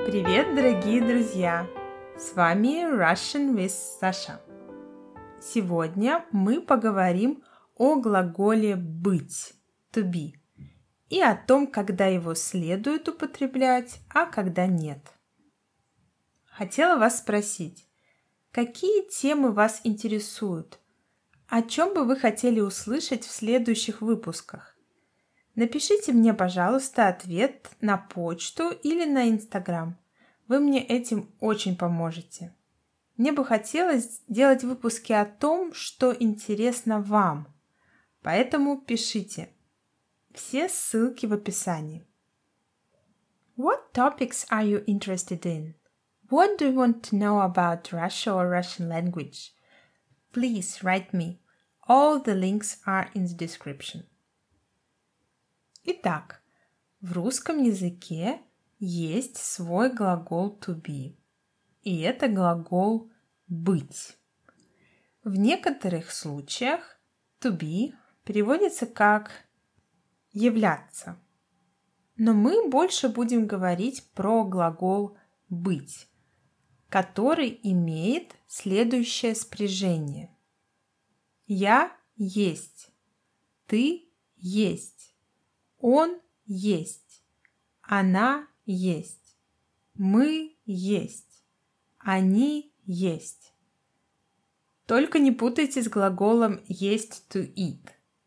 Привет, дорогие друзья! С вами Russian with Sasha. Сегодня мы поговорим о глаголе быть, to be, и о том, когда его следует употреблять, а когда нет. Хотела вас спросить, какие темы вас интересуют? О чем бы вы хотели услышать в следующих выпусках? Напишите мне, пожалуйста, ответ на почту или на Инстаграм. Вы мне этим очень поможете. Мне бы хотелось делать выпуски о том, что интересно вам. Поэтому пишите. Все ссылки в описании. What topics are you interested in? What do you want to know about Russia or Russian language? Please write me. All the links are in the description. Итак, в русском языке есть свой глагол to be, и это глагол быть. В некоторых случаях to be переводится как являться, но мы больше будем говорить про глагол быть, который имеет следующее спряжение. Я есть, ты есть. Он есть, она есть, мы есть, они есть. Только не путайте с глаголом есть to eat.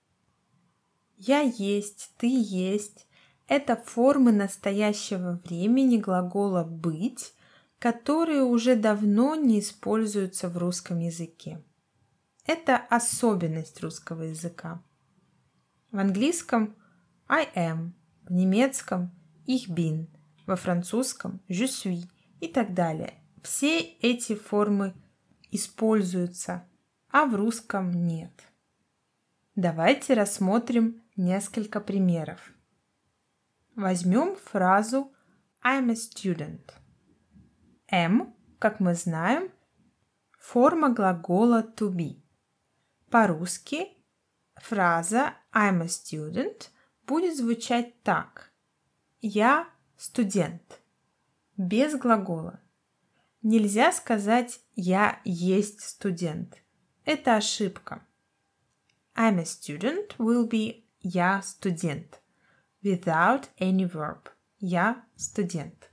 Я есть, ты есть – это формы настоящего времени глагола быть, которые уже давно не используются в русском языке. Это особенность русского языка. В английском I am, в немецком ich bin, во французском je suis и так далее. Все эти формы используются, а в русском нет. Давайте рассмотрим несколько примеров. Возьмем фразу I'm a student. Am, как мы знаем, форма глагола to be. По-русски фраза I'm a student будет звучать так. Я студент. Без глагола. Нельзя сказать «я есть студент». Это ошибка. I'm a student will be «я студент». Without any verb. Я студент.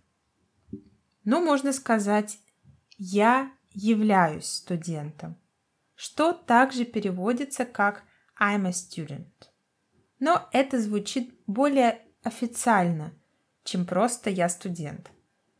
Но можно сказать «я являюсь студентом», что также переводится как I'm a student. Но это звучит более официально, чем просто «я студент».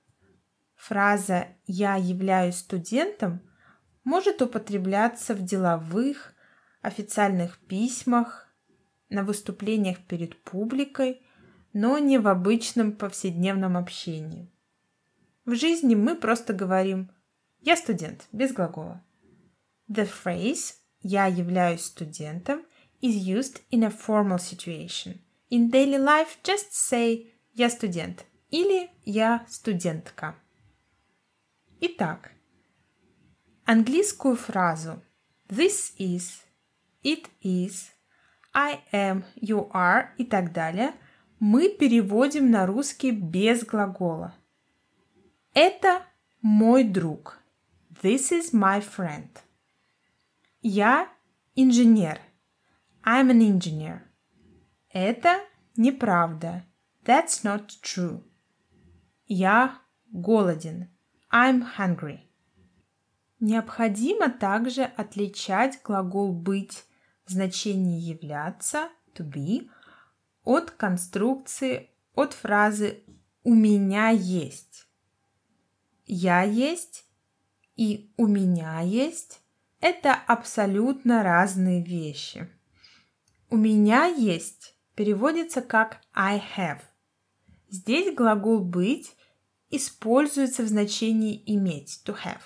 Фраза «я являюсь студентом» может употребляться в деловых, официальных письмах, на выступлениях перед публикой, но не в обычном повседневном общении. В жизни мы просто говорим «я студент» без глагола. The phrase «я являюсь студентом» is used in a formal situation. In daily life, just say «я студент» или «я студентка». Итак, английскую фразу this is, it is, I am, you are и так далее мы переводим на русский без глагола. Это мой друг. This is my friend. Я инженер. I'm an engineer. Это неправда. That's not true. Я голоден. I'm hungry. Необходимо также отличать глагол быть в значении являться, to be, от конструкции, от фразы «у меня есть». Я есть и у меня есть – это абсолютно разные вещи. У меня есть переводится как I have. Здесь глагол быть используется в значении иметь, to have.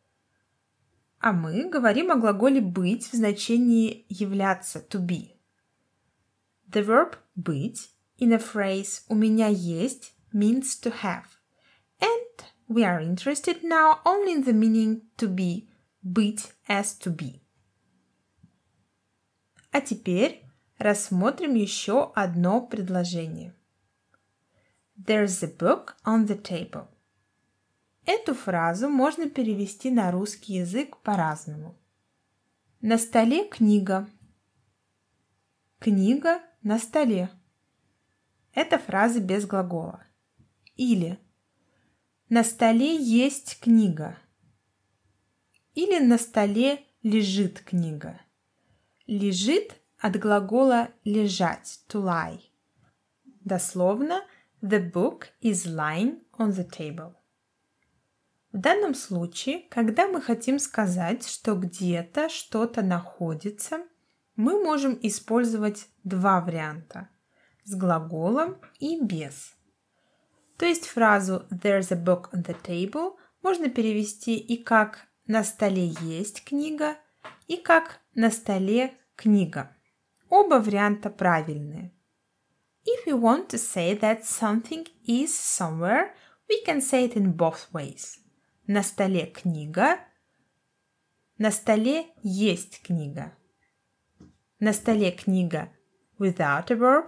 А мы говорим о глаголе быть в значении являться, to be. The verb быть in a phrase «у меня есть» means to have. And we are interested now only in the meaning to be, быть as to be. А теперь рассмотрим еще одно предложение. There's a book on the table. Эту фразу можно перевести на русский язык по-разному. На столе книга. Книга на столе. Это фраза без глагола. Или на столе есть книга. Или на столе лежит книга. Лежит от глагола лежать, to lie. Дословно, the book is lying on the table. В данном случае, когда мы хотим сказать, что где-то что-то находится, мы можем использовать два варианта – с глаголом и без. То есть фразу «There's a book on the table» можно перевести и как «на столе есть книга», и как «на столе книга». Оба варианта правильные. If we want to say that something is somewhere, we can say it in both ways. На столе книга, на столе есть книга. На столе книга without a verb,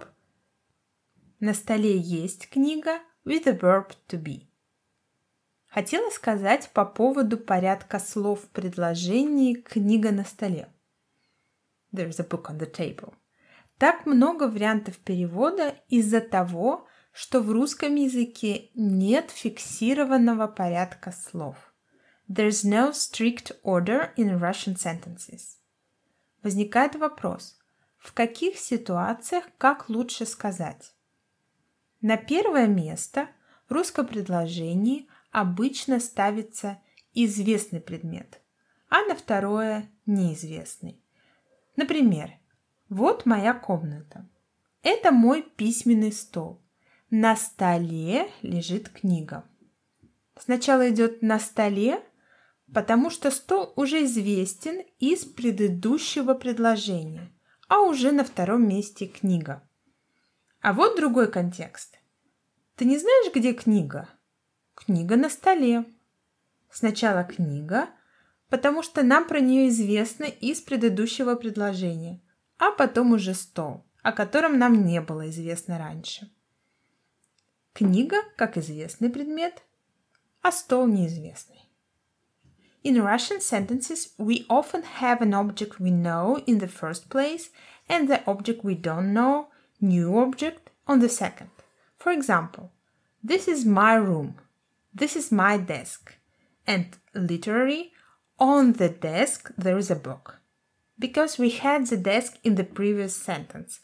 на столе есть книга with a verb to be. Хотела сказать по поводу порядка слов в предложении «книга на столе». There's a book on the table. Так много вариантов перевода из-за того, что в русском языке нет фиксированного порядка слов. There's no strict order in Russian sentences. Возникает вопрос, в каких ситуациях как лучше сказать? На первое место в русском предложении обычно ставится известный предмет, а на второе – неизвестный. Например, вот моя комната. Это мой письменный стол. На столе лежит книга. Сначала идет «на столе», потому что стол уже известен из предыдущего предложения, а уже на втором месте книга. А вот другой контекст. Ты не знаешь, где книга? Книга на столе. Сначала книга, потому что нам про нее известно из предыдущего предложения, а потом уже стол, о котором нам не было известно раньше. Книга как известный предмет, а стол неизвестный. In Russian sentences, we often have an object we know in the first place and the object we don't know, new object, on the second. For example, this is my room, this is my desk, and literally, on the desk there is a book, because we had the desk in the previous sentence.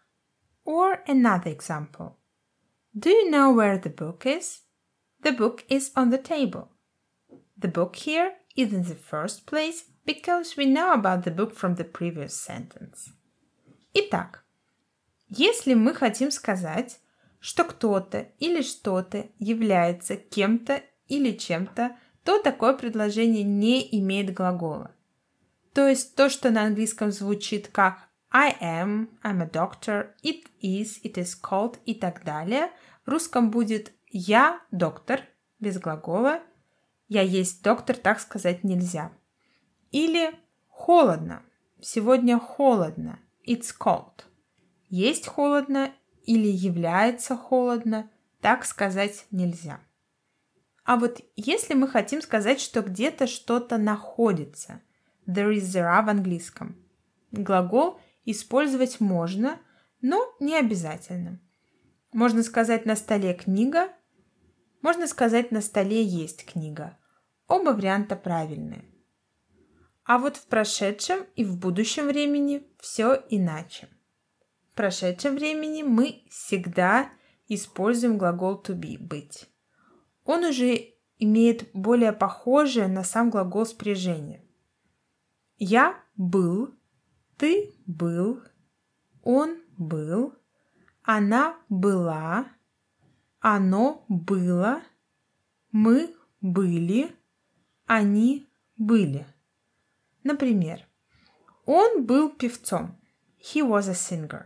Or another example. Do you know where the book is? The book is on the table. The book here is in the first place because we know about the book from the previous sentence. Итак, если мы хотим сказать, что кто-то или что-то является кем-то или чем-то, то такое предложение не имеет глагола. То есть то, что на английском звучит как I am, I'm a doctor, it is called и так далее, в русском будет я доктор, без глагола, я есть доктор, так сказать нельзя. Или холодно, сегодня холодно, it's cold. Есть холодно или является холодно, так сказать нельзя. А вот если мы хотим сказать, что где-то что-то находится, there is there в английском, глагол использовать можно, но не обязательно. Можно сказать «на столе книга», можно сказать «на столе есть книга». Оба варианта правильные. А вот в прошедшем и в будущем времени все иначе. В прошедшем времени мы всегда используем глагол to be – быть. Он уже имеет более похожее на сам глагол спряжение. Я был, ты был, он был, она была, оно было, мы были, они были. Например, он был певцом. He was a singer.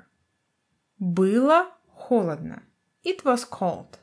Было холодно. It was cold.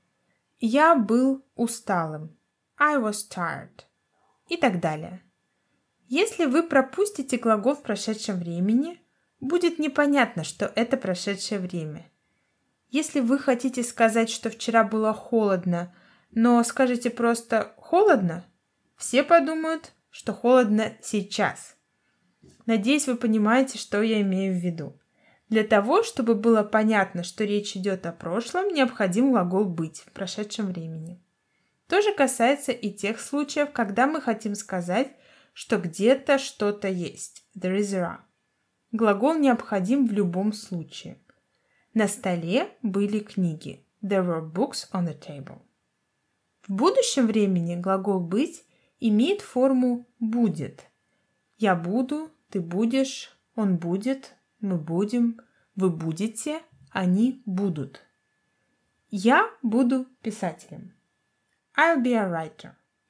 Я был усталым. I was tired. И так далее. Если вы пропустите глагол в прошедшем времени, будет непонятно, что это прошедшее время. Если вы хотите сказать, что вчера было холодно, но скажете просто холодно, все подумают, что холодно сейчас. Надеюсь, вы понимаете, что я имею в виду. Для того, чтобы было понятно, что речь идет о прошлом, необходим глагол «быть» в прошедшем времени. То же касается и тех случаев, когда мы хотим сказать, что где-то что-то есть. There is a. Глагол необходим в любом случае. На столе были книги. There were books on the table. В будущем времени глагол «быть» имеет форму «будет». Я буду, ты будешь, он будет, мы будем, вы будете, они будут. Я буду писателем. I'll be a writer.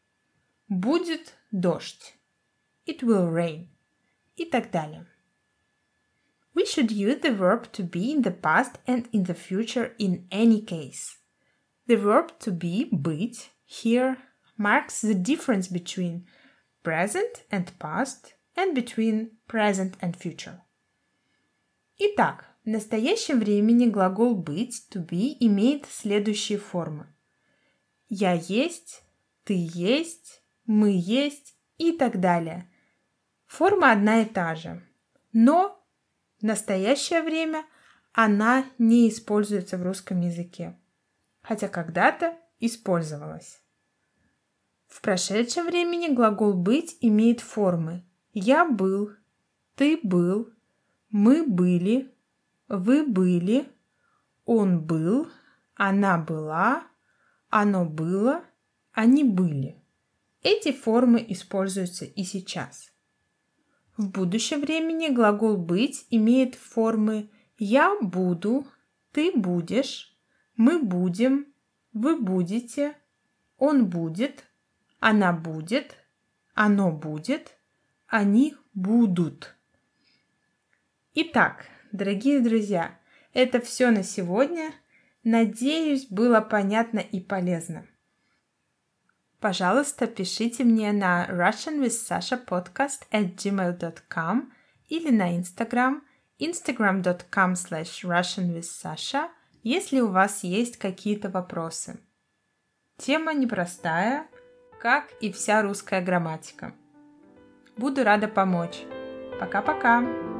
Будет дождь. It will rain. И так далее. We should use the verb to be in the past and in the future in any case. The verb to be, быть, here marks the difference between present and past and between present and future. Итак, в настоящем времени глагол быть, to be, имеет следующие формы. Я есть, ты есть, мы есть и так далее. Форма одна и та же, но в настоящее время она не используется в русском языке, хотя когда-то использовалась. В прошедшем времени глагол быть имеет формы я был, ты был, мы были, вы были, он был, она была, оно было, они были. Эти формы используются и сейчас. В будущем времени глагол «быть» имеет формы «я буду», «ты будешь», «мы будем», «вы будете», «он будет», «она будет», «оно будет», «они будут». Итак, дорогие друзья, это все на сегодня. Надеюсь, было понятно и полезно. Пожалуйста, пишите мне на russianwithsasha@gmail.com или на Instagram instagram.com/russianwithsasha, если у вас есть какие-то вопросы. Тема непростая, как и вся русская грамматика. Буду рада помочь. Пока-пока!